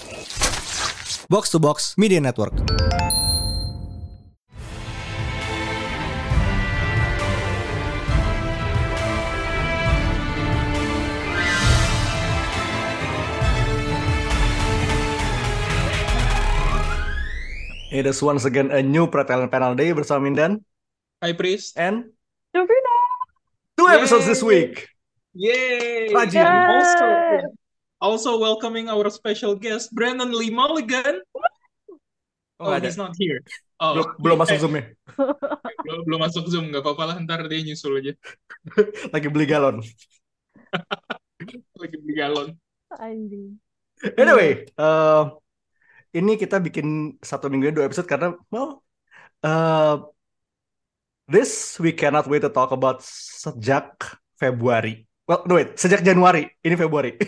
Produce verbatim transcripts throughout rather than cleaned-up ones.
Box to Box Media Network. It is once again a new Pretalent Panel Day bersama Mindan Hi Priest and Jovina. two Yay. episodes this week. Yay! Rajin. And also, Yay. also welcoming our special guest Brandon Lee Mulligan. Oh, Oh, nggak ada. he's not here. Oh, Belum, belum masuk eh, Zoom-nya. belum, belum masuk Zoom, nggak apa-apa lah, ntar dia nyusul aja. Lagi beli galon. Lagi beli galon. Anjing. Anyway, uh, ini kita bikin satu minggu dua episode karena well, uh, this we cannot wait to talk about sejak Februari. Well, no wait, sejak Januari. Ini Februari.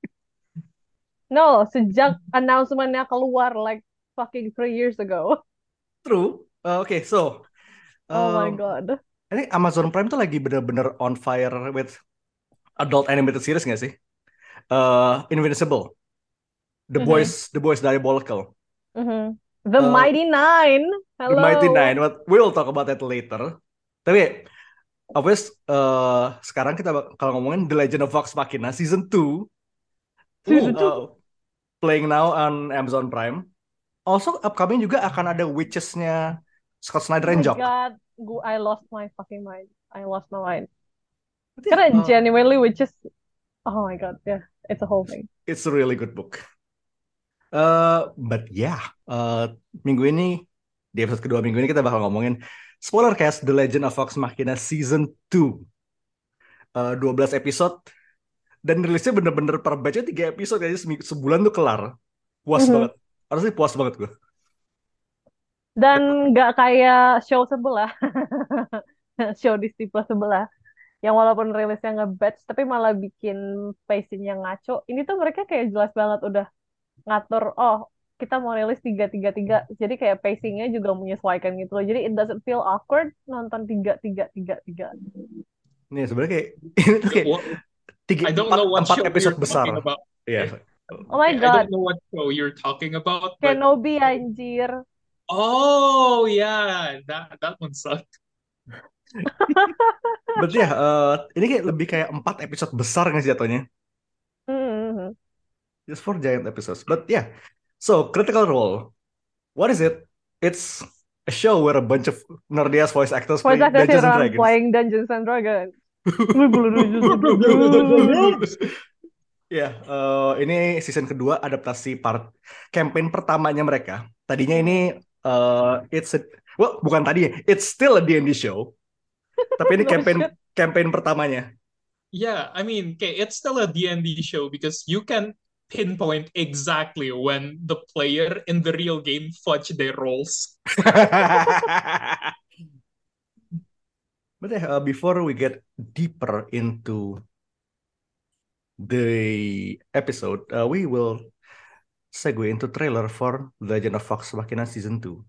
No, sejak announcement-nya keluar like fucking three years ago. True. Uh, Oke, okay, so Oh my um, god. ini Amazon Prime tuh lagi bener-bener on fire with adult animated series nggak sih? Uh, Invincible, The Mhm. Boys, The Boys Diabolical, Mhm. The Uh, Mighty Nine. The Hello. Mighty Nine. But we'll talk about that later. Tapi, obvious, uh, sekarang kita bak- kalau ngomongin The Legend of Vox Machina season two, Season two. uh, playing now on Amazon Prime. Also upcoming juga akan ada Witches-nya Scott Oh Snyder my and Jock. god. Gu- I lost my fucking mind. I lost my mind. But yeah, Karena uh, genuinely which is oh my god, yeah. It's a whole thing. it's a really good book. Uh, but yeah, uh, minggu ini di episode kedua minggu ini kita bakal ngomongin spoiler cast The Legend of Vox Machina season two. Uh, twelve episode dan rilisnya bener-bener per batch tiga episode aja seming- sebulan tuh kelar. Puas Mhm. banget. Harusnya puas banget gue. Dan nggak kayak show sebelah. Show Disney Plus sebelah. Yang walaupun rilisnya nge-batch tapi malah bikin pacing-nya ngaco. Ini tuh mereka kayak jelas banget udah ngatur, oh kita mau rilis tiga tiga tiga, jadi kayak pacingnya juga menyesuaikan gitu loh, jadi it doesn't feel awkward nonton tiga tiga tiga tiga. Nih sebenarnya kayak ini tuh kayak What- tiga I don't empat, know what empat show episode you're besar. talking about. Iya. Oh my I god, don't know what show you're talking about, but Kenobi anjir. oh yeah, that that one sucked. Berarti ya uh, ini kayak lebih kayak empat episode besar nggak sih jatuhnya? Mhm. Just four giant episodes. But yeah. So Critical Role. What is it? It's a show where a bunch of nerdy ass voice actors play Voice actors Dungeons and around Dragons. playing Dungeons and Dragons. Dungeons and Dragons. Ya, eh, ini season kedua adaptasi part campaign pertamanya mereka. Tadinya ini eh, it's a, well bukan tadi, it's still a D and D show. Tapi ini No campaign shit. campaign pertamanya. Yeah, I mean, okay, it's still a D and D show because you can pinpoint exactly when the player in the real game fudge their rolls. But yeah, uh, before we get deeper into the episode, uh, we will segue into trailer for The Legend of Vox Machina season two.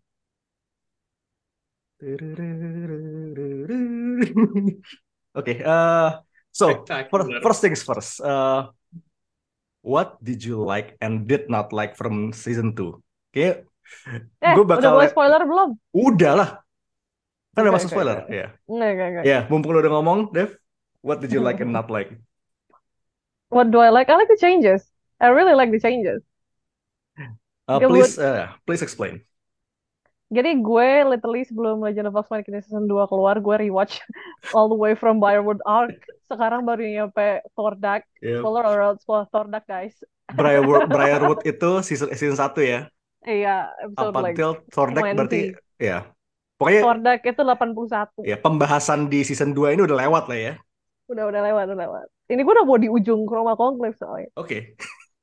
Okay, uh, so for, Spectacular. first things first, uh, what did you like and did not like from season two? Kayak Eh, gue udah bakal boleh spoiler belum? udah lah, kan udah Oke, masuk oke, spoiler oke. ya. Enggak, enggak, enggak. Ya, mumpung lu udah ngomong, Dev, what did you like and not like? What do I like? I like the changes. I really like the changes. Uh, Good. please, uh, please explain. Jadi gue literally sebelum Legend of Vox Machina season two keluar, gue rewatch all the way from Briarwood Arc. Sekarang baru nyampe Thordak. Yeah. Spoiler alert, spoiler Thordak guys. Briarwood, Briarwood itu season season satu ya. Iya, episode Up like until Thordak berarti twenty. ya. Pokoknya Thordak itu delapan puluh satu. ya pembahasan di season two ini udah lewat lah ya. Udah udah lewat, udah lewat. Ini gue udah mau di ujung Chroma Conclave soalnya. Oke.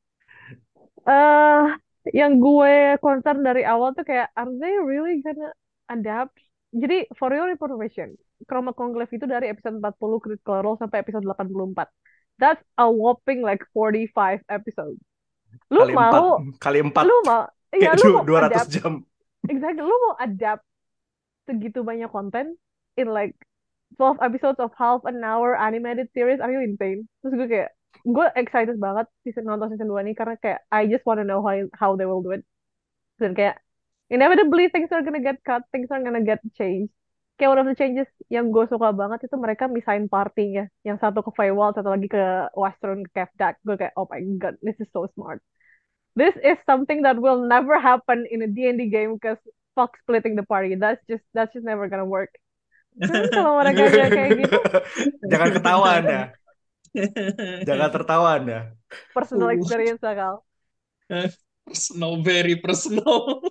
Eh, yang gue concern dari awal tuh kayak, are they really gonna adapt? Jadi for your information, Chroma Conclave itu dari episode empat puluh Critical Role sampai episode delapan puluh empat. That's a whopping like forty-five episodes. Lu Kali mau, empat, kali empat, lu mau, iya kayak lu du- mau dua ratus adapt, jam. exactly, lu mau adapt segitu banyak konten in like twelve episodes of half an hour animated series, are you insane? Terus gue kayak, gue excited banget season nonton season dua ini karena kayak I just wanna know how how they will do it. Dan kayak inevitably things are gonna get cut, things are gonna get changed. Kayak one of the changes yang gue suka banget itu mereka misahin partinya. Yang satu ke Feywild, satu lagi ke Western ke Kevdak. Gue kayak, oh my god, this is so smart. This is something that will never happen in a D and D game because fuck splitting the party. That's just that's just never gonna work. Cuman kalau mereka nggak kayak gitu, Jangan ketawa Anda. Jangan tertawa Anda. personal Ooh. experience lah Kal. Personal, very personal.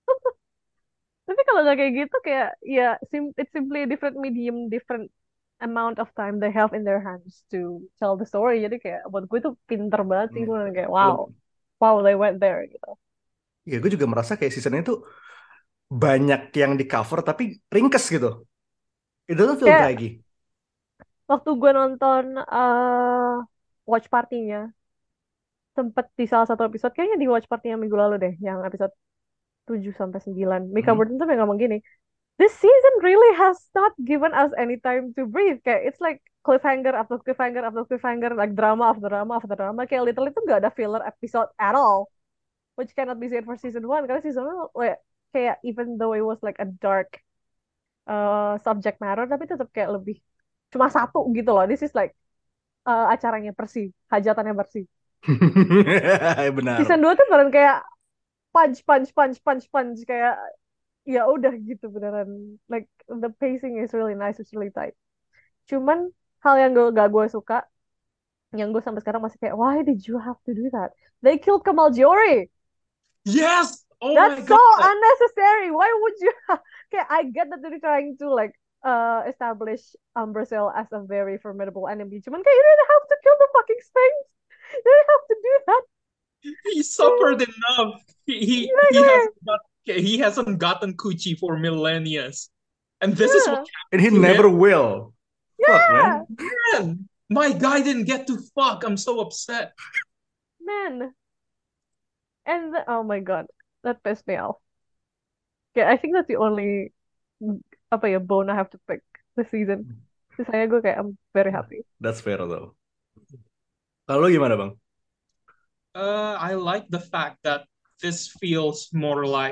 Tapi kalau nggak kayak gitu kayak ya sim it's simply a different medium, different amount of time they have in their hands to tell the story. Jadi kayak buat gue tuh pinter banget sih, gue kayak wow, wow they went there gitu. Ya gue juga merasa kayak season itu banyak yang di cover tapi ringkes gitu. It doesn't feel Kayak- draggy. Waktu gue nonton uh, watch party-nya, sempet di salah satu episode, kayaknya di watch party yang minggu lalu deh, yang episode tujuh sampai sembilan. Mika Hmm. Burton tuh yang ngomong gini, this season really has not given us any time to breathe. Kayak it's like cliffhanger after cliffhanger after cliffhanger, like drama after drama after drama. Kayak literally tuh gak ada filler episode at all, which cannot be said for season one. Karena season one kayak, kayak even though it was like a dark uh, subject matter, tapi tetap kayak lebih cuma satu gitu loh. This is like uh, acaranya Persi, hajatannya Persi. Benar. Season dua tuh beneran kayak punch punch punch punch punch kayak ya udah gitu beneran, like the pacing is really nice, it's really tight. Cuman hal yang gue gak gue suka, yang gue sampai sekarang masih kayak why did you have to do that? They killed Kamal Giori. Yes! Oh That's my so god! unnecessary. Why would you? Okay, I get that they're trying to like uh establish Umbrasil as a very formidable enemy. Cuman kayak you didn't have to kill the fucking Sphinx. You didn't have to do that. He suffered enough. He he, he Exactly. hasn't got he hasn't gotten coochie for millennia. And this is what Yeah. And he Yeah. never will. Fuck, man. Yeah, man. My guy didn't get to fuck. I'm so upset. man. And the- oh my god, that pissed me off. Yeah, I think that's the only apa ya bone I have to pick this season. Sisanya gue kayak I'm very happy. That's fair though. Kalau lu gimana bang? Uh, I like the fact that this feels more like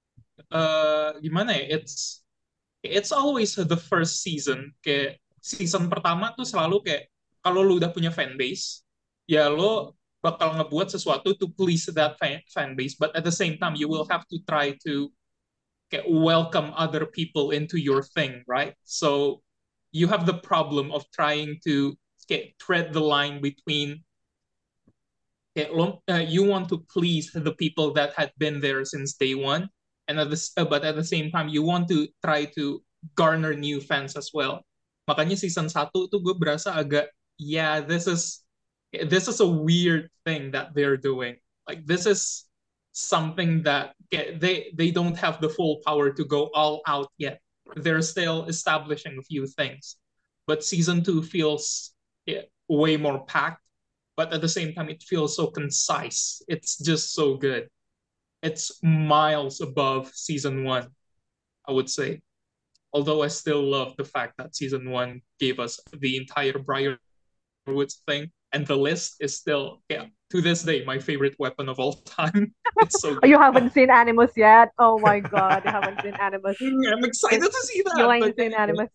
uh gimana ya? It's it's always the first season. Kayak season pertama tuh selalu kayak kalau lu udah punya fan base, ya lo bakal ngebuat sesuatu to please that fan, fan base, but at the same time you will have to try to kayak welcome other people into your thing, right? So you have the problem of trying to kayak tread the line between kayak lo, uh, you want to please the people that had been there since day one, and at the, uh, but at the same time you want to try to garner new fans as well. Makanya season satu tuh gue berasa agak, yeah, this is this is a weird thing that they're doing. Like this is something that yeah, they they don't have the full power to go all out yet. They're still establishing a few things. But season two feels yeah, way more packed, but at the same time it feels so concise. It's just so good. It's miles above season one, I would say. Although I still love the fact that season one gave us the entire Briarwoods thing, and the list is still, yeah, to this day, my favorite weapon of all time. It's so Oh, good. you haven't seen Animus yet? Oh my god, you haven't seen Animus. I'm excited to see that. You ain't but seen yeah, Animus.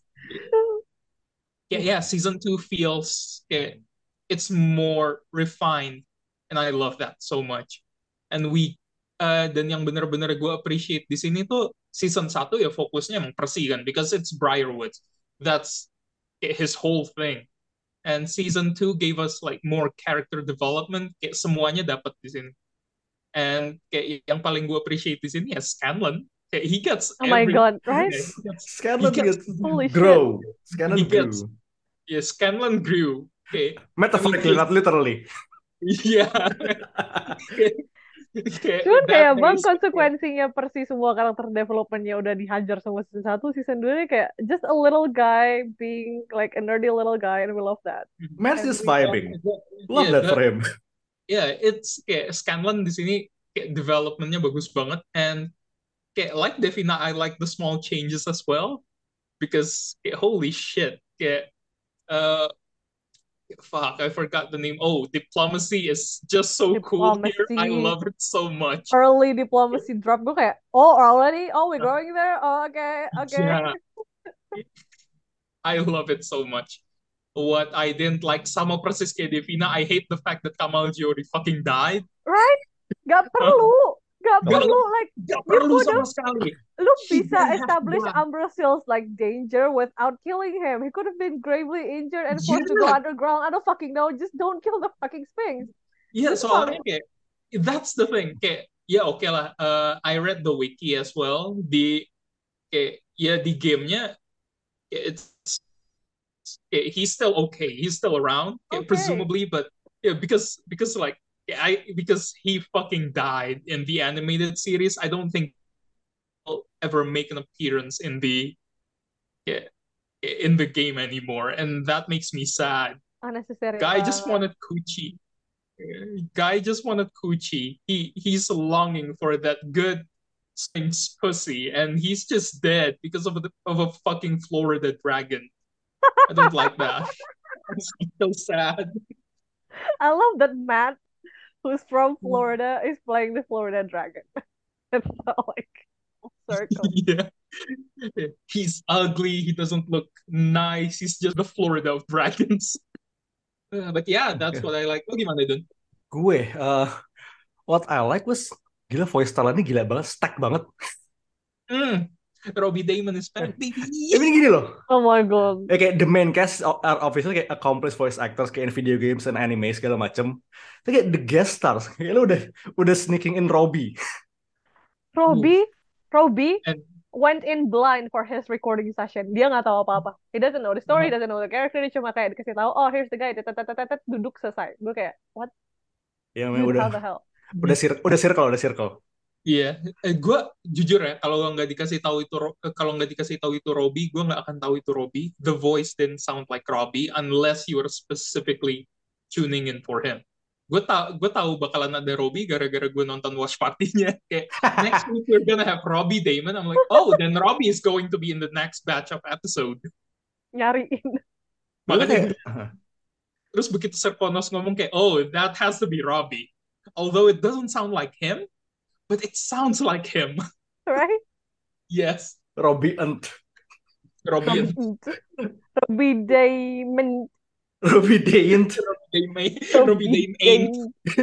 yeah, yeah, season two feels yeah, it's more refined, and I love that so much. And we uh, dan yang bener-bener gue appreciate di sini tuh season satu ya fokusnya emang Percy kan, because it's Briarwoods. That's his whole thing. And season two gave us like more character development, kayak semuanya dapat di sini. And kayak yang paling gue appreciate di sini ya Scanlan. Kayak he gets Oh my every- god, right? yeah, he gets- Scanlan he gets- gets Holy shit. grow. Scanlan He gets- grew. yeah, Scanlan grew. Okay. Metaphorically, I mean, not literally. Yeah. Cuman kayak bang konsekuensinya Persi semua karakter developmentnya udah dihajar sama season satu, season dua nya kayak just a little guy being like a nerdy little guy, and we love that. Man's just Every- vibing. Love Yeah, that for him. Yeah, it's kayak Scanlan di sini kayak developmentnya bagus banget, and kayak like Devina, I like the small changes as well, because kayak, holy shit, kayak uh, fuck, I forgot the name. Oh, diplomacy is just so cool here. I Diplomacy, love it so much. early diplomacy drop. Gue kayak, oh already, oh we're going there. Oh, okay, okay. Yeah, I love it so much. What I didn't like sama persis kayak Devina, I hate the fact that Kamal Giori fucking died. Right? Gak perlu, gak Gak, perlu. Like gak you perlu could sama have, sekali. lu He bisa didn't have to establish die. Ambrosial's like danger without killing him. He could have been gravely injured and forced to go Yeah, underground. I don't fucking know. Just don't kill the fucking Sphinx. yeah. Itu Soalnya paling. kayak that's the thing. Kayak ya oke lah. Uh, I read the wiki as well. Di kayak ya di gamenya kayak it's kayak he's still okay. He's still around, kayak Okay. presumably, but yeah, because because like yeah, I because he fucking died in the animated series. I don't think he'll ever make an appearance in the yeah, in the game anymore, and that makes me sad. Unnecessary Guy just banget. wanted coochie. Guy just wanted coochie. He he's longing for that good Sphinx pussy, and he's just dead because of the, of a fucking Florida dragon. I don't like that. It's so sad. I love that Matt, who's from Florida, is playing the Florida Dragon. It's so like full circle. Yeah. He's ugly. He doesn't look nice. He's just the Florida of dragons. Uh, but yeah, that's what I like. Oh, gimana, Dun? Gue, uh, what I like was gila voice talentnya gila banget, stack banget. Mm. Robbie Damon is back, baby. Tapi gini loh, Oh my god. ya kayak the main cast are obviously kayak accomplished voice actors kayak in video games and anime segala macem. Tapi kayak the guest stars, kayak lo udah udah sneaking in Robbie. Robbie, Robbie And went in blind for his recording session. Dia nggak tahu apa-apa. He doesn't know the story, uh, doesn't know the character. Dia cuma kayak dikasih tahu, oh here's the guy, tet, tet, tet, tet, tet, duduk selesai. Gue kayak, what? Ya memang Dude, udah how the hell? udah sir udah circle udah circle. iya, eh, gue jujur ya, kalau nggak dikasih tahu itu Ro- eh, kalau nggak dikasih tahu itu Robbie, gue nggak akan tahu itu Robbie. The voice didn't sound like Robbie unless you were specifically tuning in for him. Gue tau gue tahu bakalan ada Robbie gara-gara gue nonton watch party-nya. Kayak next week we're gonna have Robbie Damon. I'm like, oh, then Robbie is going to be in the next batch of episode. Nyariin. Gue Makanya kayak terus begitu Serponos ngomong kayak, oh, that has to be Robbie. Although it doesn't sound like him, but it sounds like him. Right? Yes, Robbie and Robbie and Robbie Damon. Robbie Dayant. Robbie Dame, Robbie Dame ain't.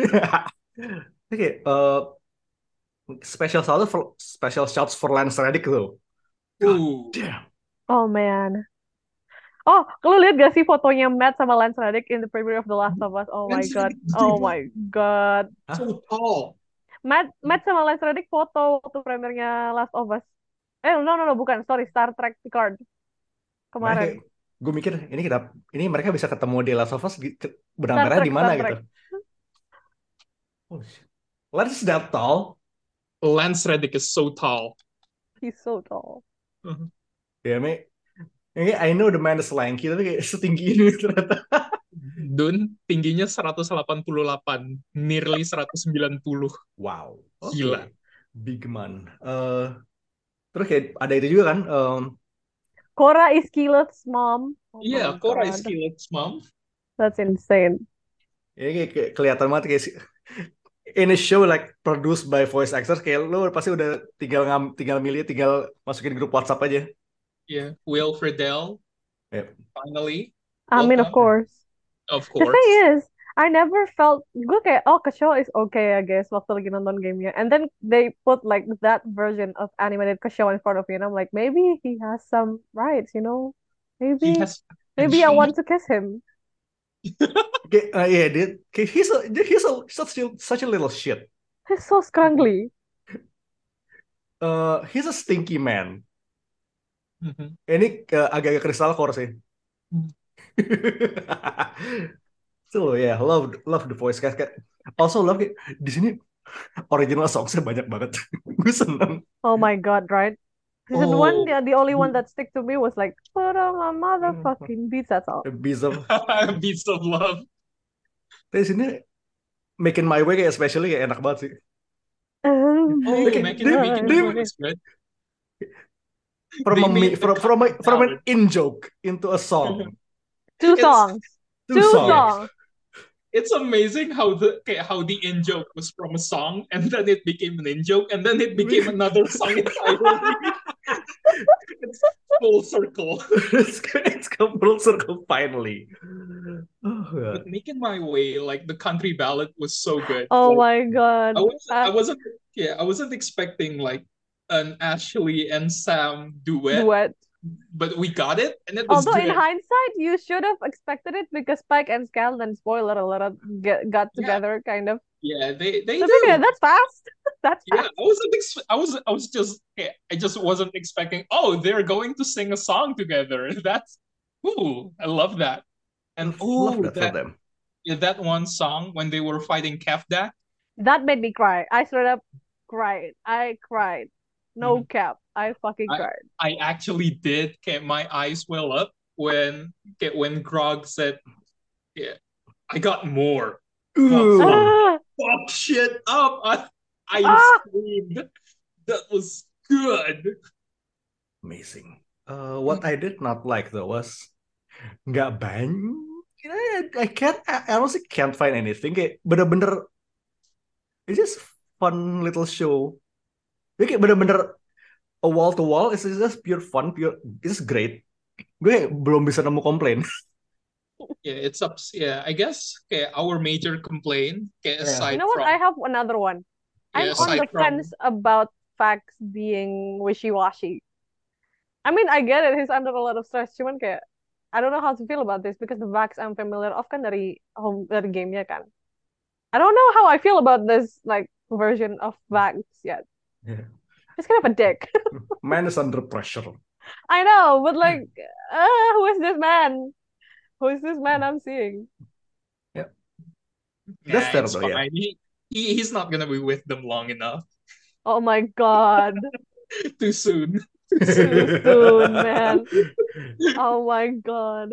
Oke, uh, special shout for special shouts for Lance Reddick though. God Ooh. damn. Oh man. Oh, lu lihat gak sih fotonya Matt sama Lance Reddick in the premiere of The Last of Us? Oh my Lance god. Reddick, Oh dude, my god. so tall. Matt Matt sama Lance Reddick foto waktu premiernya Last of Us. Eh, no, no, no, bukan. Sorry, Star Trek Picard. Kemarin. Gue mikir ini kenapa ini mereka bisa ketemu di Last of Us di- ke- benang Star merah Trek, di mana Star gitu. Trek. Oh, shit. Lance is that tall. Lance Reddick is so tall. He's so tall. Uh-huh. Ya, me. Ini I know the man is lanky tapi kayak setinggi ini ternyata. Dun tingginya seratus delapan puluh delapan, nearly seratus sembilan puluh. Wow. Oke. Gila. Big man. Eh, terus kayak ada itu juga kan. Um, Cora is Keyleth's mom. Oh Iya, my Cora god. is Keyleth's mom. That's insane. ya kayak, kayak kelihatan banget kayak si- in a show like produced by voice actors kayak lo pasti udah tinggal ngam, tinggal milih tinggal masukin grup WhatsApp aja. Yeah, Will Friedle, Yep. finally, I mean, of welcome. course. Of The course. thing is, I never felt gue kayak oh Kasho is okay I guess waktu lagi nonton gamenya, and then they put like that version of animated Kasho in front of me, and I'm like maybe he has some rights, you know, He maybe has maybe I potential. want to kiss him. Kayak, uh, yeah, dia, kayak he's a he's a such a, such a little shit. He's so scrunkly. Uh, he's a stinky man. Mhm. Ini uh, agak-agak kristal core sih. Hmm. So yeah, love love the voice cast. Kayak- Also love kayak, di sini original songsnya banyak banget. Gue seneng. Oh my god, right? Season one, Oh, the, the only one that stick to me was like put on my motherfucking beats. That's all. Beats of Beats of Love. Tapi sini Making My Way kayak especially kayak enak banget sih. Oh Oh, Kayak making dia, making dia my way is good. from They a made me- the from cut from a from an valid. in joke into a song. Two It's songs. Two Two songs. songs. It's amazing how the okay, how the in joke was from a song, and then it became an in joke, and then it became another song entirely. It's full circle. it's, it's come full circle finally. Oh, God. But Making My Way, like the country ballad, was so good. Oh Like, my God. I was I Uh, wasn't yeah I wasn't expecting like an Ashley and Sam duet, duet. but we got it, and it was Although in good. hindsight, you should have expected it because Spike and Scanlan, spoiler alert, get, got Yeah, together kind of. yeah, they they So okay, do. that's fast. That's Yeah, fast. I wasn't ex- I was I was just yeah, I just wasn't expecting. Oh, they're going to sing a song together. That's ooh, I love that. And Love ooh, that for that them. yeah, that one song when they were fighting Kefdak. That made me cry. I straight up cried. I cried. No Mhm. cap. I fucking I cried. I actually did get my eyes well up when get when Grog said, "Yeah, I got more. Fuck, Ooh. fuck, Ah, fuck shit up." I I ah, screamed. That was good. Amazing. Uh, what I did not like though was nggak banyak. I, I can't. I, I honestly can't find anything. Kayak bener-bener. It's just fun little show. Ini kayak bener-bener a wall to wall. It's just pure fun. Pure. It's great. Gue belum bisa nemu komplain. Yeah, it's up. Yeah, I guess okay, our major complaint, okay, Yeah. you aside know what? I from have another one. I'm yeah, on aside the from fence about facts being wishy-washy. I mean, I get it. He's under a lot of stress. Cuman kayak, I don't know how to feel about this because the facts I'm familiar of kan dari home dari gamenya kan. I don't know how I feel about this like version of facts yet. Yeah. He's kind of a dick. Man is under pressure. I know, but like, uh, who is this man? Who is this man I'm seeing? Yeah. nah, That's fair it's though. Yeah. fine. He, he he's not gonna be with them long enough. Oh my God. Too soon. Too soon, man. Oh my God.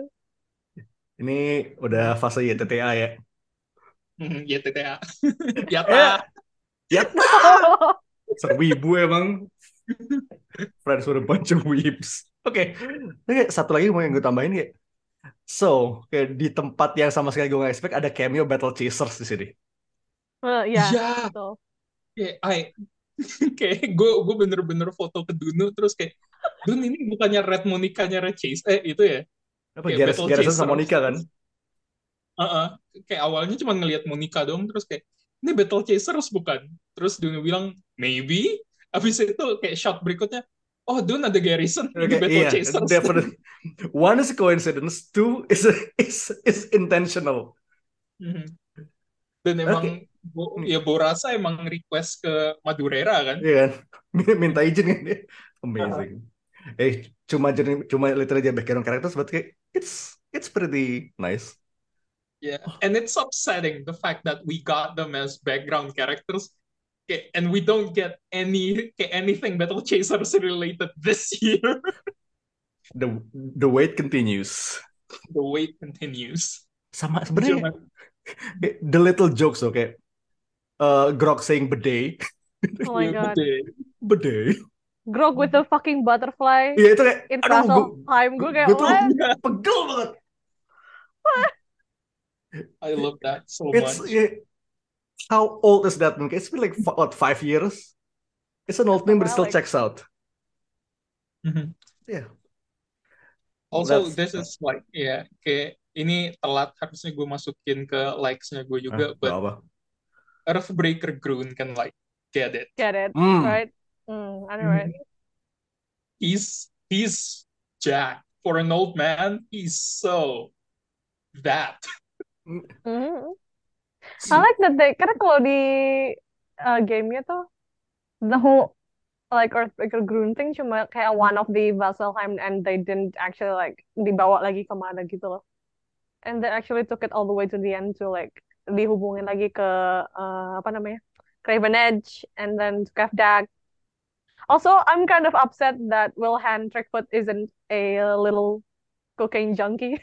Ini udah fase Y T T A ya. Mhm, Y T T A. Eh, Yata. ya No. serwibu emang. Friends with a bunch of weeps. Oke, Oke, satu lagi mau yang gue tambahin kayak, so kayak di tempat yang sama sekali gue gak expect ada cameo Battle Chasers di sini. Uh, ya, Ya, betul. kayak I kayak gue gue bener-bener foto ke Dunu terus kayak Dun ini bukannya Red Monica-nya Red Chase eh itu ya Apa kayak Garrison, Battle Garrison Chasers sama Monica kan? Heeh. Kayak awalnya cuma ngelihat Monica doang terus kayak ini Battle Chasers bukan terus Dunu bilang maybe habis itu kayak shot berikutnya oh Dun ada Garrison ini Oke, Battle iya, Chasers definitely. One is a coincidence, two is is is intentional. Mhm. Dan Oke, emang Bo- ya Borasa emang request ke Madureira kan iya kan? Minta izin kan dia. Heeh. Amazing. Eh, cuma jadi cuma literally aja background characters, but kayak it's it's pretty nice. Yeah, and it's upsetting the fact that we got them as background characters, okay, and we don't get any okay, anything Battle Chasers related this year. The the wait continues. The wait continues. Sama sebenarnya Cuma, kayak the little jokes oke. Okay? Uh, Grok saying bidet, Oh my ya, God. betul. bidet. Grog with the fucking butterfly Iya itu kayak, in aduh, gue Fraselheim. Gue kayak, gue tuh what? Yeah, pegel banget. I love that so It's much. yeah, how old is that name? It's been like f- what five years. It's an old That's a name, but it still relic. checks out. Mhm. Yeah, Also, that's this is like, yeah, kayak ini telat harusnya gue masukin ke likes-nya gue ah, juga, gak but apa. Earthbreaker Grun can like get it. Get it, Hmm. right? Mm, I know, right? Mhm. He's he's Jack for an old man. He's so that. Mhm. I like that they, karena kalau di uh, gamenya tuh, the whole like Earthbreaker grunting cuma kayak one of the Vasselheim and they didn't actually like dibawa lagi kemana gitu loh. And they actually took it all the way to the end to like dihubungin lagi ke uh, apa namanya? Craven Edge and then to Kefdag. Also, I'm kind of upset that Wilhan Trickfoot isn't a little cocaine junkie.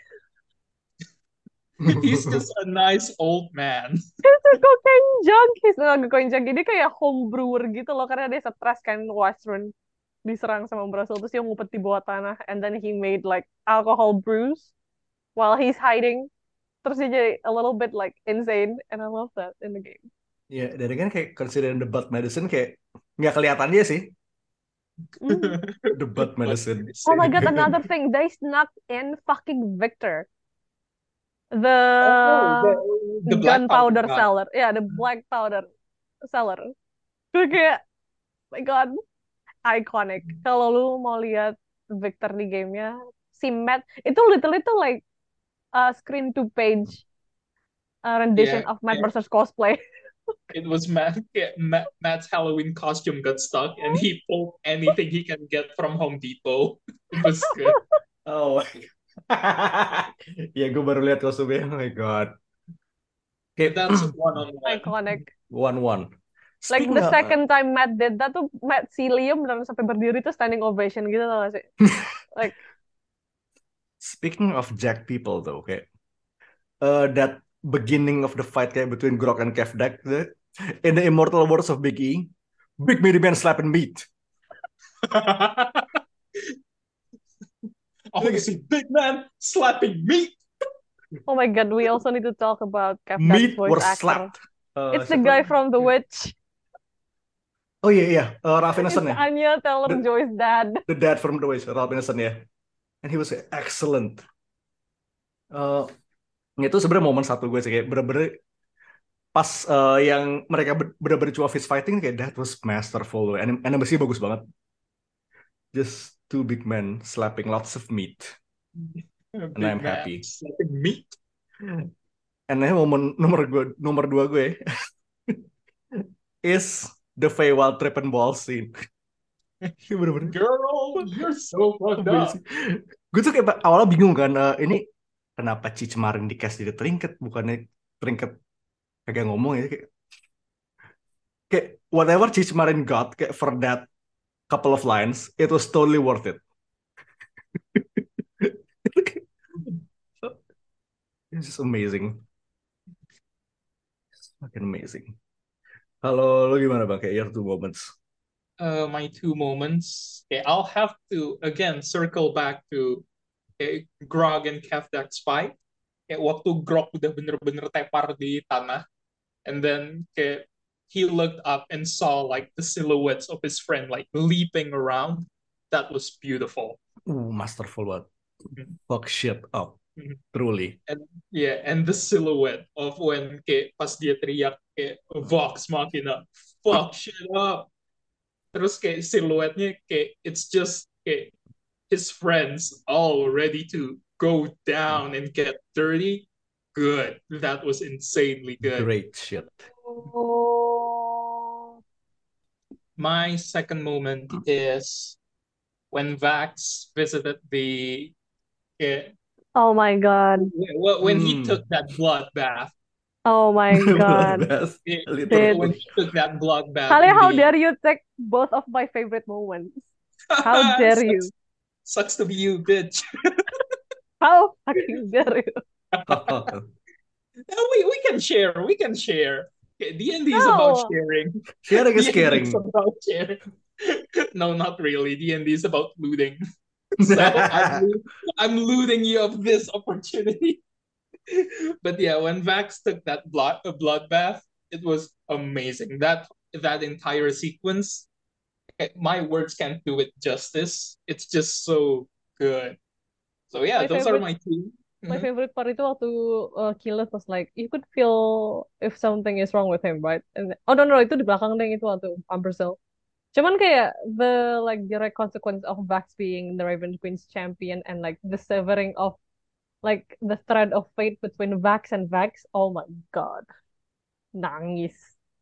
He's just a nice old man. He's a cocaine junkie. He's not a cocaine junkie. Dia kayak home brewer gitu loh. Karena dia stres kan Westruun diserang sama Brasil. Terus dia ngumpet di bawah tanah. And then he made like alcohol brews while he's hiding. terus dia jadi a little bit like insane, and I love that in the game. Ya, dari kan kayak considering the butt medicine kayak nggak kelihatan dia sih. Mm. The butt medicine. Oh my god, another thing, they snuck in fucking Victor, the Oh, the the black powder gunpowder gun. seller. Yeah, the black powder seller. Gue kayak, my god, iconic. Kalau lu mau lihat Victor di gamenya, si Matt itu literally tuh like a screen to page uh, rendition Yeah, of Matt yeah. versus cosplay. It was Matt, yeah, Matt. Matt's Halloween costume got stuck, and he pulled anything he can get from Home Depot. It was good. Oh my God. Ya gue baru lihat kostumnya. Oh my God. Kayak That's one on one. Iconic. one one. Like Speaking the of, second time Matt did that tuh Matt si Liam beneran sampai berdiri tuh standing ovation gitu tau gak sih? Like speaking of Jack people though, kayak uh, that beginning of the fight kayak between Grok and Kevdak, the, in the immortal words of Big E, Big Meaty Man slapping meat. I want to see big man slapping meat. oh my god, we also need to talk about Kev Dad's Meat voice were actor. slapped. Uh, It's the siapa? guy from The Witch. Oh iya iya, uh, Ralph It's Ineson ya. Anya Taylor-Joy's dad. The dad from The Witch, Ralph Ineson ya. And he was excellent. Uh, itu sebenarnya momen satu gue sih kayak bener-bener pas uh, yang mereka ber- bener-bener cuma fist fighting kayak that was masterful. Anim animasinya bagus banget. Just two big men slapping lots of meat. And Big I'm man happy. slapping meat. And then momen nomor gue nomor dua gue is the Feywild trip and ball scene. Bener-bener Girl, you're so fucked up. amazing. Gue tuh kayak awalnya bingung kan, uh, ini kenapa Cici Marin di cast jadi trinket, bukannya trinket kagak ngomong ya, kayak, kayak whatever Cici Marin got kayak for that couple of lines, it was totally worth it. It's just amazing. It's fucking amazing. Kalau lo gimana bang, kayak your two moments? Uh, my two moments. Okay, I'll have to again circle back to okay, Grog and Kevdak's fight. Kayak waktu Grog udah bener-bener tepar di tanah, and then kayak he looked up and saw like the silhouettes of his friend like leaping around. That was beautiful. Uh, masterful banget. Mhm. Fuck shit up, Mhm. truly. And yeah, and the silhouette of when kayak pas dia teriak kayak Vox Machina, fuck shit up. Terus kayak silhouetnya kayak it's just kayak his friends all ready to go down and get dirty. Good. That was insanely good. Great shit. Oh. My second moment is when Vax visited the eh, Oh my god. wh- when he Hmm. took that blood bath. Oh my god. Bloodbath, Eh, literally. When he took that blood bath Kali, in how the dare you take both of my favorite moments? How dare sucks, you? sucks to be you, bitch. How fucking dare you? No, we we can share. We can share. Okay, D and D is about No. sharing. Sharing is D and D caring. is about sharing. No, not really. D and D is about looting. So I'm, loo- I'm looting you of this opportunity. But yeah, when Vax took that blood a bloodbath, it was amazing. That that entire sequence, eh, my words can't do it justice. It's just so good. So yeah, My those are favorite my two. my Mhm. favorite part itu waktu uh, Killeth was like, you could feel if something is wrong with him, right? And oh no no itu di belakang deh itu waktu Umbercell. Cuman kayak the like direct consequence of Vax being the Raven Queen's champion and like the severing of like the thread of fate between Vax and Vax. Oh my god. Nangis.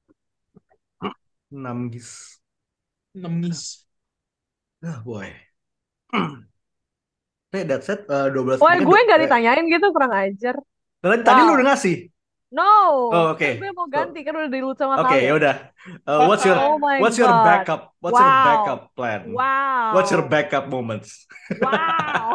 Namgis. Nangis. Ah, boy. Hey, that's it. Uh, dua belas Wah, mungkin gue do- nggak eh, ditanyain gitu, kurang ajar. tadi tadi lu Wow. udah ngasih. No. Oh, oke. Kan gue mau So, ganti, kan udah dilut sama oke, kalian. ya udah. Uh, what's your Oh my what's your god. backup? What's your Wow. backup plan? What's your Wow. backup moments? Wow.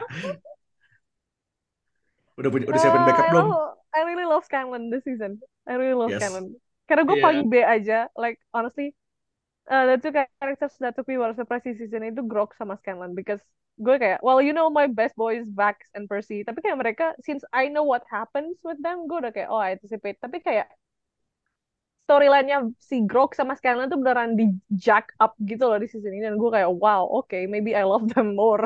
Udah punya udah siapin Uh, backup I belum? love, I really love Scanlan this season. I really love Yes. Scanlan. Karena gue Yeah. paling B aja. Like honestly, uh, the two characters that took me by surprise di season itu Grok sama Scanlan because gue kayak well you know my best boys Vax and Percy tapi kayak mereka since I know what happens with them gue udah kayak oh I anticipate tapi kayak storyline-nya si Grok sama Scanlan tuh beneran di jack up gitu loh di season ini dan gue kayak wow okay maybe I love them more.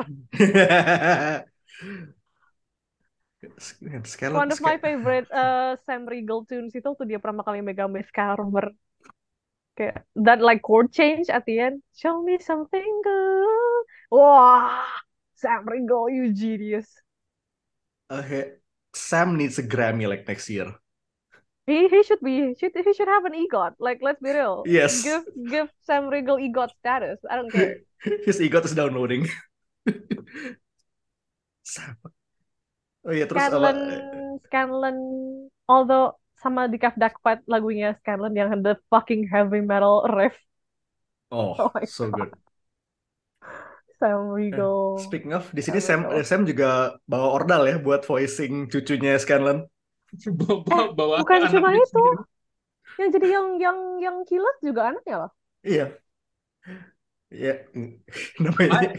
Scanlan, One of my Scan- favorite uh, Sam Riegel tunes itu tuh dia pertama kali megang bass cover kayak that like chord change at the end. Show me something good. Wah, Sam Riegel, you genius. Okay, Sam needs a Grammy like next year. He he should be should he should have an EGOT. Like let's be real. Yes. Give give Sam Riegel EGOT status. I don't care. His ego is downloading. Sam. Oh iya terus apa? Scanlan Scanlan although sama di Kev Dark Fight lagunya Scanlan yang the fucking heavy metal riff. Oh, Oh my so good. Sam Eh, Riegel. Speaking of, di sini Sam Sam Riegel. Sam juga bawa ordal ya buat voicing cucunya Scanlan. Bawa, bawa Bukan cuma anaknya itu. sendiri. Yang jadi yang yang yang Kilat juga anaknya loh. Iya. Iya. Namanya.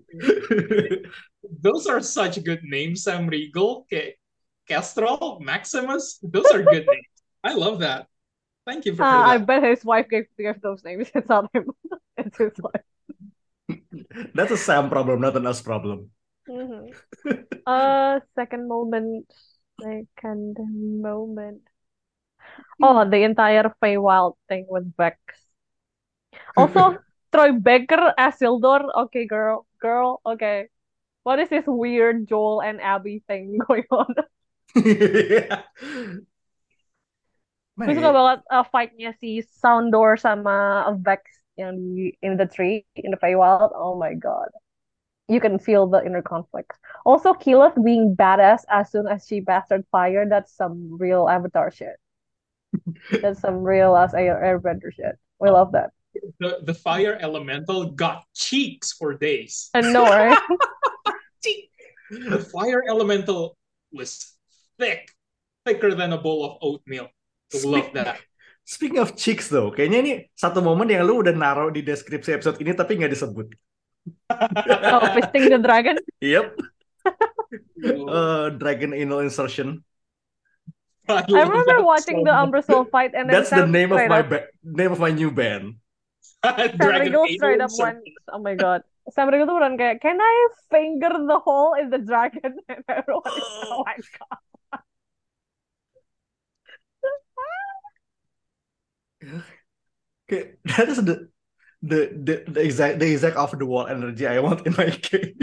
Those are such good names, Sam Riegel, Ke- Kestrel, Maximus. Those are good names. I love that. Thank you for, for Uh, I that. bet his wife gave, gave those names. It's not him. It's his wife. That's a Sam problem, not an us problem. Mhm. Uh, second moment. Second moment. Oh, the entire Feywild thing with Vex. Also, Troy Baker as Sildor. Okay, girl. Girl, okay. What is this weird Joel and Abby thing going on? Man, Gue suka banget uh, fight-nya si Soundor sama Vex yang di in the tree, in the Feywild. Oh my god. You can feel the inner conflict. Also, Keyleth being badass as soon as she bastard fire, that's some real Avatar shit. That's some real ass air airbender shit. We love that. The, the fire elemental got cheeks for days. I know, right? The fire elemental was thick, thicker than a bowl of oatmeal. I love Speak- that. Speaking of chicks though, kayaknya ini satu momen yang lu udah naruh di deskripsi episode ini tapi nggak disebut. Oh, fisting the dragon. Yep. Uh, dragon anal insertion. I, I love remember that watching so the much. Umbrasyl fight, and then That's the Sam name of straight my up, ba- name of my new band. Sam Dragon Riegel anal straight up insert. went, oh my god. Sam Riegel tuh beneran kayak, can I finger the hole in the dragon? And everyone is, oh my god. Okay, that is the the the, the exact the exact off the wall energy I want in my game.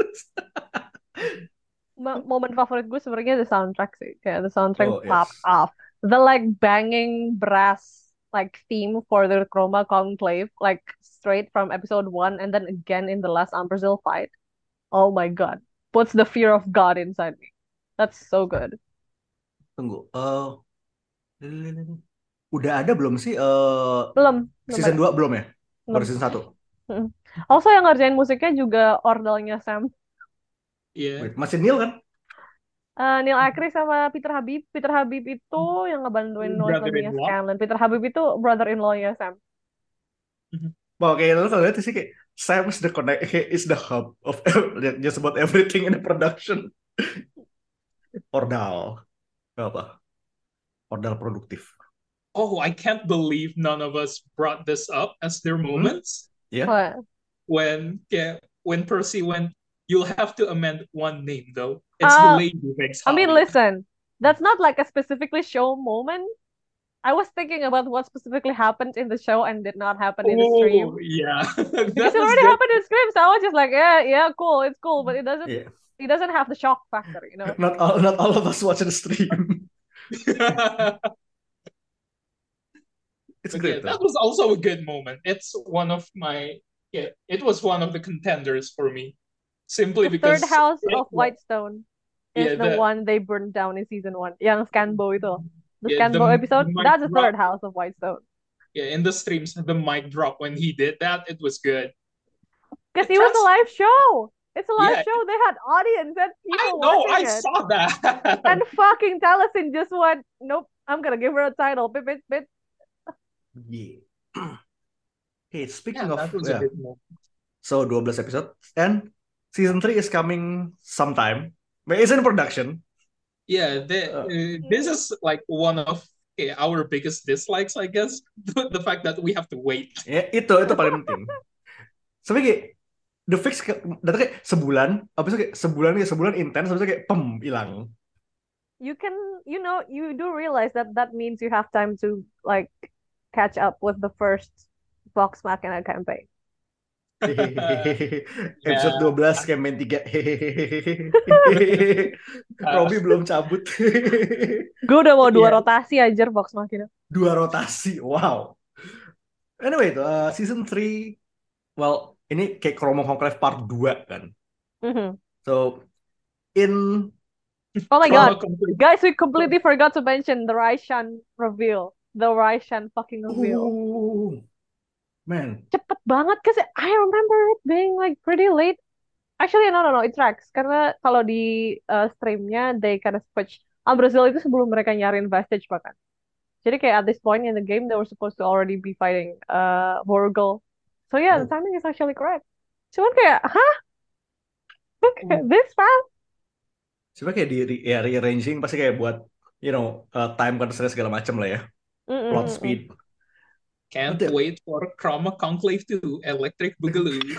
Mo- Momen favorit gue sebenarnya the soundtrack sih. Kayak the soundtrack Oh, popped yes. off. The like banging brass like theme for the Chroma Conclave, like straight from episode one and then again in the last Umbrasyl fight. Oh my god. Puts the fear of God inside me. That's so good. Tunggu. Uh, udah ada belum sih eh Belum, belum season ada. dua belum ya? Baru Belum. season satu. Mm. Also yang ngerjain musiknya juga ordalnya Sam. Yeah. Wait, masih Neil kan? Eh, Neil Akri sama Peter Habib. Peter Habib itu yang ngebantuin nulis lagunya Brother-in-law. Scanlan. Peter Habib itu brother-in-law-nya Sam. Wah, kayak lu kalau lihat sih kayak Sam is the connect, he is the hub of just about everything in the production. Ordal. Apa? Ordal produktif. Oh, I can't believe none of us brought this up as their Mhm. moments. Ya. What? When yeah, when Percy went, you'll have to amend one name though. It's the Uh, Lady Vex I mean, Holly. listen, that's not like a specifically show moment. I was thinking about what specifically happened in the show and did not happen in the stream. Oh yeah, Because that it was already good. happened in the stream, so I was just like, yeah, yeah, cool, it's cool, but it doesn't, Yeah. it doesn't have the shock factor, you know? Not all, not all of us watch the stream. It's But great yeah, that though. was also a good moment. It's one of my yeah, it was one of the contenders for me. Simply The because third house it of was- Whitestone is yeah, the the- one they burned down in season one. Yang Scanbo itu. The Yeah, Scanbo the episode, mic that's the third drop. house of Whitestone. yeah, in the streams, the mic drop when he did that, it was good. Because It it was a trans- live show. It's a live Yeah. show. They had audience and I people know, I watching it. saw that. And fucking Taliesin just went, nope, I'm gonna give her a title. Bit, bit, bit. Yeah. Hey, Yeah, speaking of, that was a yeah, good move. so twelve episode and season three is coming sometime. But it's in production. Yeah, the, Uh, uh, this is like one of okay, our biggest dislikes, I guess. The, the fact that we have to wait. ya itu itu paling penting. Sampai kayak the fix ke- datang kayak sebulan, habis itu kayak sebulan kayak sebulan intens, habis itu kayak pem hilang. You can, you know, you do realize that that means you have time to like catch up with the first Vox Machina campaign. Episode Yeah. dua belas campaign tiga. Uh, Robby belum cabut. Gue udah mau dua Yeah. rotasi aja Vox Machina. Dua rotasi. Wow. Anyway, itu uh, season three, well, ini kayak Chromo Conclave part dua kan. Mhm. So in Oh my Trauma god, complete. guys, we completely forgot to mention the Raishan reveal, the Raishan fucking reveal. Ooh, man, Cepet banget, cause I remember it being like pretty late. Actually, no, no, no, it tracks. Karena kalau di uh, streamnya, they kind of switch. Brazil itu sebelum mereka nyariin Vestige bahkan. Jadi kayak at this point in the game, they were supposed to already be fighting uh, Vorgel. So yeah, the oh, timing is actually correct. Cuman kayak, hah? Mm. This fast? coba kayak di re- ya, rearranging pasti kayak buat you know uh, time constraint segala macam lah ya, plot Mm-mm-mm-mm. speed. Can't Betul. wait for Trauma Conclave two, Electric Boogaloo.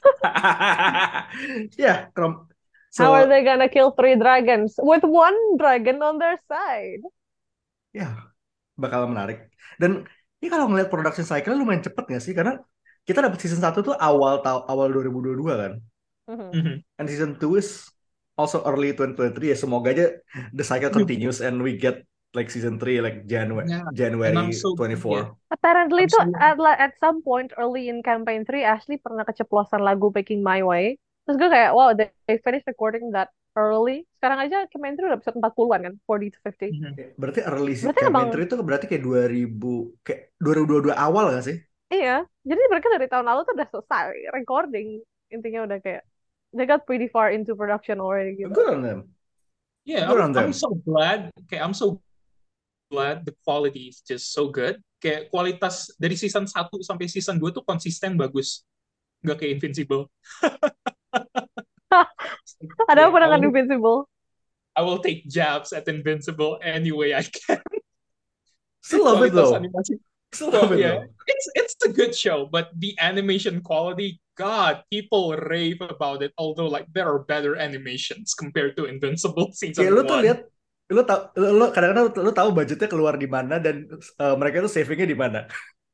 Ya, Chrome. How are So they gonna kill three dragons with one dragon on their side? ya bakal menarik. Dan ini kalau ngeliat production cycle lumayan cepet nggak sih? Karena kita dapat season satu tuh awal ta- awal dua ribu dua puluh dua kan. Mhm. Mhm. And season two is also early twenty twenty-three ya. Semoga aja the cycle continues and we get like season three like January Yeah, and I'm January so yeah, twenty-four. Apparently I'm tuh so at, la- at some point early in campaign three, Ashley pernah keceplosan lagu Making My Way. Terus gue kayak, wow, they, they finished recording that early. Sekarang aja campaign three udah episode empat puluhan kan, forty to fifty. Mhm. Ya, berarti early sih Berarti campaign emang, three itu berarti kayak dua ribu kayak dua ribu dua puluh dua awal gak sih? iya. Jadi mereka dari tahun lalu tuh udah selesai recording. Intinya udah kayak, they got pretty far into production already gitu. Good on them. Yeah, Good I'm on I'm them. so glad. Okay, I'm so glad the quality is just so good. Kayak kualitas dari season satu sampai season dua tuh konsisten bagus. Nggak kayak Invincible. Ada Yeah, apa I dengan will Invincible? I will take jabs at Invincible any way I can. Still love it Kualitas though. animasi. Still Well, love it yeah, though. it's it's a good show, but the animation quality, God, people rave about it. Although, like, there are better animations compared to Invincible Kayak season lu tuh one. lihat, lu tau, lu, lu kadang-kadang lu, lu tahu budgetnya keluar di mana dan uh, mereka tuh savingnya di mana.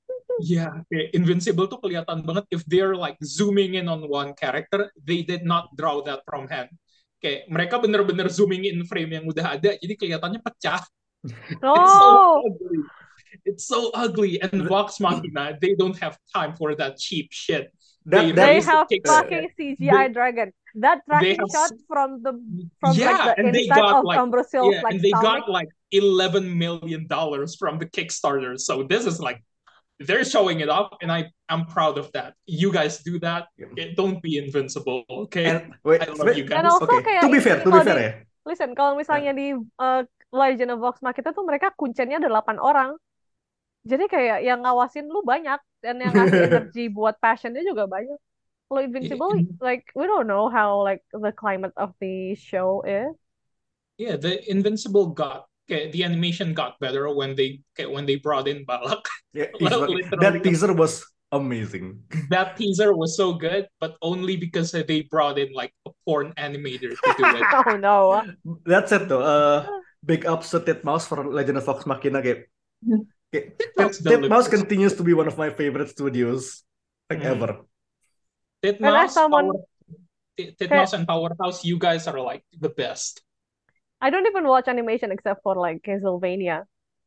Yeah, kayak Invincible tuh kelihatan banget if they're like zooming in on one character, they did not draw that from hand. Kayak mereka bener-bener zooming in frame yang udah ada, jadi kelihatannya pecah. It's so Oh, ugly. It's so ugly. And Vox Machina, they don't have time for that cheap shit. They That they that released the have kicks. uh, fucking C G I They, dragon. That they tracking have shot from the from like yeah, the and they inside got of like Ambrosiel's yeah, like and they stomach. got like eleven million dollars from the Kickstarter. So this is like they're showing it off, and I I'm proud of that. You guys do that. It, don't be invincible, okay? and wait, I love you Dan guys. also okay. kayak To be ini fair, to be kalau fair di ya. listen kalau misalnya Ya. di uh, Legend of Vox Machina tuh mereka kuncennya ada delapan orang. Jadi kayak yang ngawasin lu banyak dan yang ngasih energi buat passionnya juga banyak. Kalau Yeah, Invincible, and- like we don't know how like the climate of the show is. yeah, the Invincible got okay, the animation got better when they okay, when they brought in Balak. Ya, he's fucking- Literally, that teaser was amazing. that teaser was so good, but only because they brought in like a porn animator to do it. Oh no. That's it though. Uh, big ups to Titmouse for Legend of Vox Machina kayak. kayak Titmouse Tit- Titmouse delivers. continues to be one of my favorite studios like Mhm. ever. Titmouse, someone- Power, Tit- Titmouse and Powerhouse, you guys are like the best. I don't even watch animation except for like Castlevania.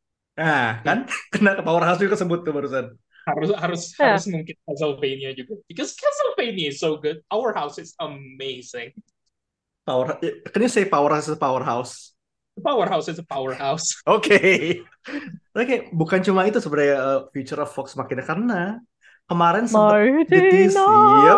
Nah, kan? Kena Powerhouse juga sebut tuh barusan. Harus harus Yeah. harus mungkin Castlevania juga. Because Castlevania is so good. Our house is amazing. Power, can you say Powerhouse is Powerhouse? The Powerhouse is a powerhouse. Oke. Tapi kayak bukan cuma itu sebenarnya uh, future of Vox Machina karena kemarin sempat the Mighty tease, yep,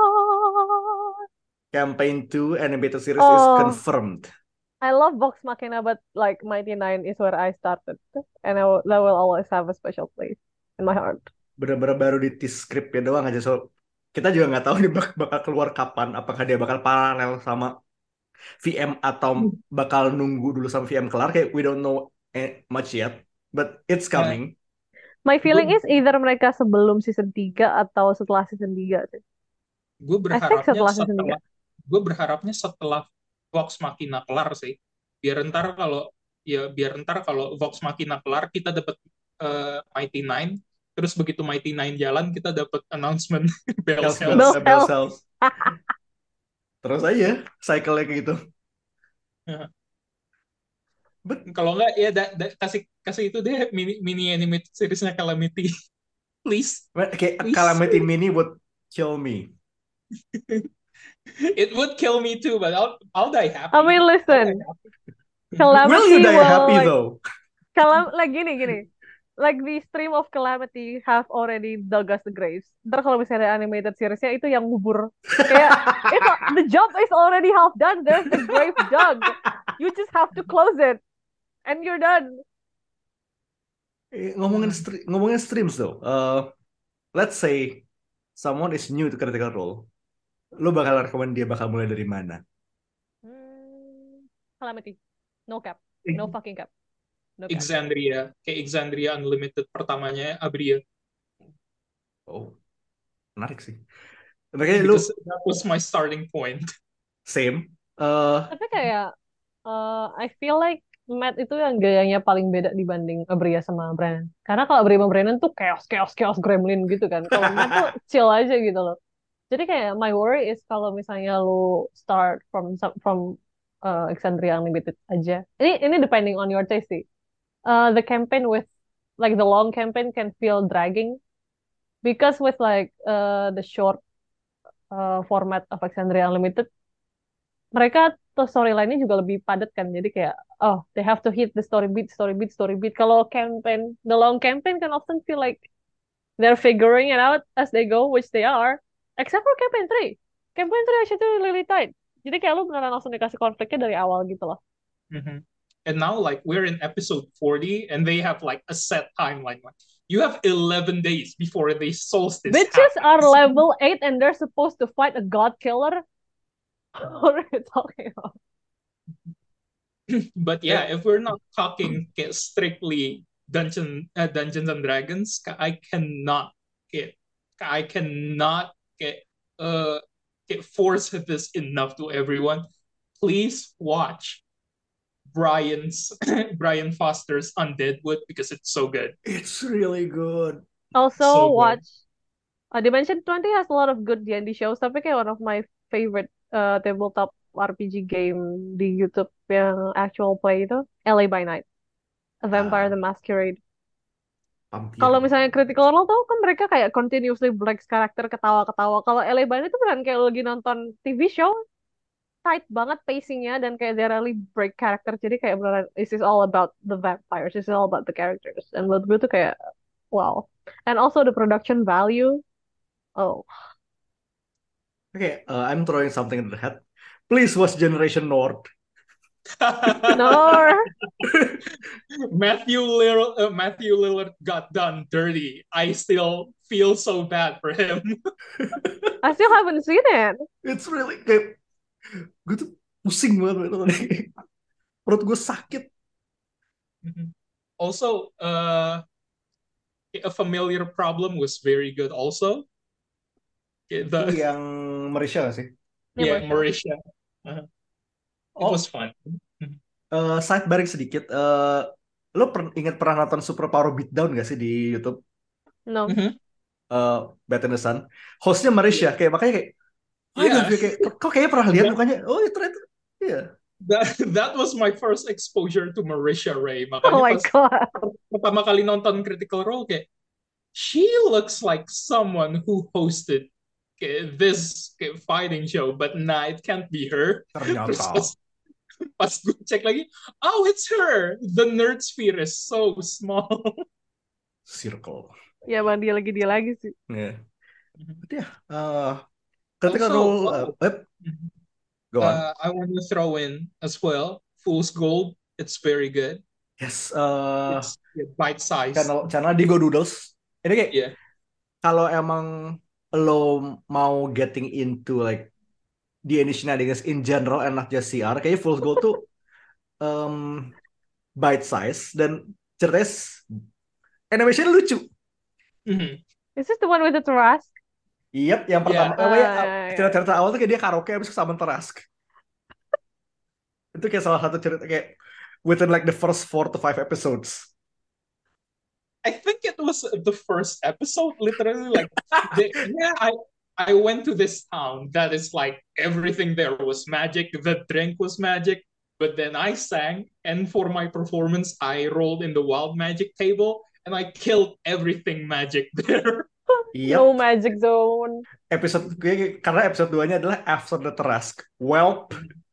Knight. campaign two animated series is Oh. confirmed. I love Vox Machina, but like Mighty Nine is where I started, and I will, that will always have a special place in my heart. bener-bener baru di tease scriptnya doang aja. So kita juga nggak tahu nih bak- bakal keluar kapan. Apakah dia bakal paralel sama V M atau bakal nunggu dulu sampai V M kelar? Kayak we don't know eh, much yet, but it's Ya, coming. My feeling gue is either mereka sebelum season tiga atau setelah season tiga sih. gue I think berharapnya setelah season tiga. setelah gue berharapnya setelah Vox Machina kelar sih. Biar ntar kalau ya biar ntar kalau Vox Machina kelar kita dapat eh, Mighty Nine. Terus begitu Mighty Nine jalan kita dapat announcement Bell's Bells, Health. bells, Bell eh, bells, Hell. bells. Terus aja cycle-nya kayak gitu. Ya. But Kalau nggak ya da- da- kasih kasih itu deh mini mini animated seriesnya Calamity. Please, kayak please. Calamity Mini would kill me. It would kill me too, but I'll I'll die happy. I mean, I'll die listen, happy. Will you Calamity die will happy like though? Calam like gini gini. Like the stream of Calamity have already dug us the graves. Ntar kalau misalnya ada animated seriesnya itu yang ngubur. Kayak it's a- the job is already half done. There's the grave dug. You just have to close it, and you're done. Eh, ngomongin Hmm. stre- ngomongin streams though. Uh, let's say someone is new to Critical Role. Lo bakal rekomend dia bakal mulai dari mana? Hmm, Calamity, no cap, no fucking cap, no cap. Exandria, kayak Exandria Unlimited pertamanya Abria. Oh, menarik sih. Makanya lu Because that was my starting point. same. Uh, Tapi kayak uh, I feel like Matt itu yang gayanya paling beda dibanding Abria sama Brennan. Karena kalau Abria sama Brennan tuh chaos, chaos, chaos gremlin gitu kan. Kalau Matt tuh chill aja gitu loh. Jadi kayak my worry is kalau misalnya lu start from some- from uh, Exandria Unlimited aja. Ini ini depending on your taste sih. Uh, the campaign with like the long campaign can feel dragging because with like uh, the short uh, format of Exandria Unlimited mereka tuh storyline-nya juga lebih padat kan. Jadi kayak oh they have to hit the story beat, story beat, story beat. Kalau campaign, the long campaign can often feel like they're figuring it out as they go, which they are. Except for campaign three. Campaign three actually really tight. Jadi kayak lu beneran langsung dikasih konfliknya dari awal gitu loh. Mhm. And now, like, we're in episode forty, and they have like a set timeline. Like, you have eleven days before the solstice Bitches are happens. level eight and they're supposed to fight a god killer. What are you talking about? But yeah, if we're not talking kayak strictly dungeon uh, Dungeons and Dragons, ka- I cannot get I cannot get uh get force this enough to everyone. Please watch Brian's Brian Foster's Undeadwood because it's so good. it's really good. Also So good. watch uh, Dimension twenty has a lot of good D and D shows, tapi kayak one of my favorite uh, tabletop R P G game di YouTube yang actual play itu L A by Night, A Vampire Ah, the Masquerade. vampir. Kalau misalnya Critical Role tuh kan mereka kayak continuously breaks karakter ketawa-ketawa. Kalau L A by Night itu beneran kayak lagi nonton T V show, tight banget pacingnya dan kayak they really break character. Jadi kayak beneran this is all about the vampires, this is all about the characters. And menurut gue tuh kayak wow. And also the production value. Oh, Okay, uh, I'm throwing something in the head. Please watch Generation North. no. Matthew Lillard, uh, Matthew Lillard got done dirty. I still feel so bad for him. I still haven't seen it. It's really kayak gue tuh pusing banget tadi. Perut gue sakit. Also, uh, a familiar problem was very good. Also, Itu the yang Marisha sih. yeah, Marisha. Marisha. Uh, it Oh, was fun. uh, sidebaring sedikit. Uh, lo per ingat pernah nonton Super Power Beatdown gak sih di YouTube? No. Mhm. Uh, Bad in the Sun. Hostnya Marisha. Kayak makanya kayak, oh Yeah. yeah. kayak, kok kayaknya pernah lihat Yeah. mukanya. Oh itu ternyata, iya. That that was my first exposure to Marisha Ray. Oh Makanya my pas god. pertama kali nonton Critical Role kayak she looks like someone who hosted kayak this kayak fighting show, but nah, it can't be her. Terus Ternyata. pas, pas gue cek lagi, oh, it's her. The nerd sphere is so small. Circle. Ya bang dia lagi dia lagi sih. Yeah. But yeah, uh, Critical Also, Role. oh, Uh, web. Go on. uh, I want to throw in as well Fool's Gold. It's very good. Yes. Uh, It's bite size. channel channel Digo Doodles. Ini kayak Yeah. kalau emang lo mau getting into like D and D shenanigans in general and not just C R, kayaknya Fool's Gold tuh um, bite size dan ceritanya s- animation lucu. Mhm. Is this the one with the Tarask? Yep, yang Yeah. pertama, namanya Ah, ya, ya, ya. cerita-cerita awal tuh kayak dia karaoke habis ke Summon Tarask. Itu kayak salah satu cerita kayak within like the first four to five episodes. I think it was the first episode, literally like the, yeah, I I went to this town that is like everything there was magic, the drink was magic, but then I sang, and for my performance, I rolled in the wild magic table and I killed everything magic there. No Yep, magic zone. episode kayak- karena episode dua-nya adalah After the Tarask. Welp.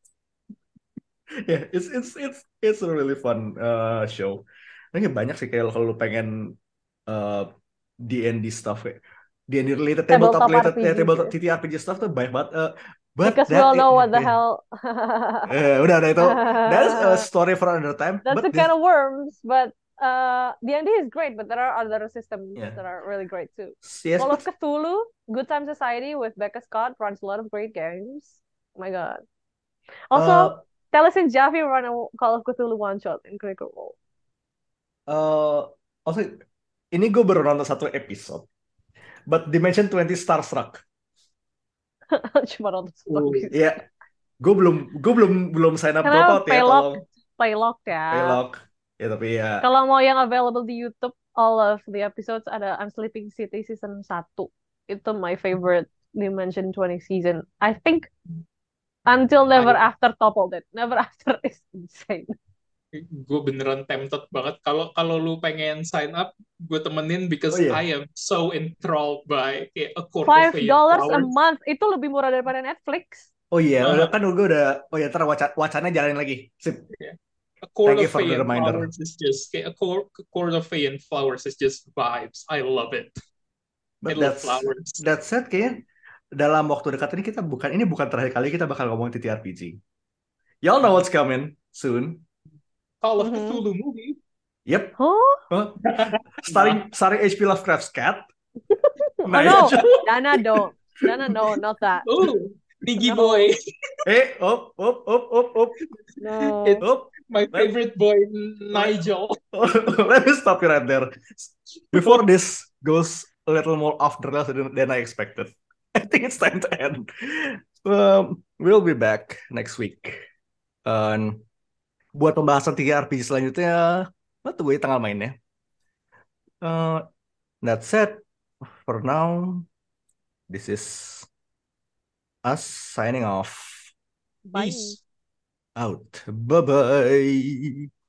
Yeah, it's it's it's it's a really fun uh, show. Ini banyak sih kayak kalau lu pengen uh, D and D stuff kayak D and D related, tabletop Tabletop related, ya R P G. tabletop T T R P G stuff tuh banyak banget. Uh, but Because we that all know what the yeah. hell. Eh, udah udah itu that's a story for another time. That's But a this kind of worms, but uh, D and D is great, but there are other systems yeah, that are really great too. yes, Call of but Cthulhu, Good Time Society with Becca Scott runs a lot of great games. Oh my god. Also, uh, Talis and Jaffe run a Call of Cthulhu one shot in Critical Role. uh, also ini gue baru nonton satu episode. But Dimension twenty Starstruck. Cuma nonton satu Ooh. episode. Ya, gue belum gue belum belum sign up Karena GoPot ya, Paylock, tolong Paylock ya. Paylock. Ya tapi ya. Kalau mau yang available di YouTube, all of the episodes ada I'm Sleeping City season satu. Itu my favorite Dimension twenty season. I think until Never I After toppled it. Never After is insane. gue beneran tempted banget. Kalau kalau lu pengen sign up, gue temenin because Oh iya. I am so enthralled by kayak a court of Five fey and dollars a flowers. month itu lebih murah daripada Netflix. Oh iya, udah Uh, kan gue udah oh ya ntar waca- wacananya jalanin lagi. Sip. a court Thank of you for fey the and reminder. flowers is just kayak a court, a court of fey and flowers is just vibes. I love it. I But love that's flowers. that said kayaknya dalam waktu dekat ini kita bukan ini bukan terakhir kali kita bakal ngomong T T R P G. Y'all know what's coming soon. Call of Mhm. Cthulhu movie. Yep. Huh? Huh? Starring starring H P Lovecraft's cat. Oh Nah, no, itu. Dana don't. Dana no, not that. Oh, Niggy No. boy. Eh, op, op, op, op, op, No. It's op. my Let, favorite boy, Nigel. let me stop you right there. Before this goes a little more off the rails than, than I expected. I think it's time to end. Um, we'll be back next week. And buat pembahasan T T R P G selanjutnya, lo tunggu tanggal mainnya. Uh, that said, for now, this is us signing off. Bye. Peace. Out. Bye-bye.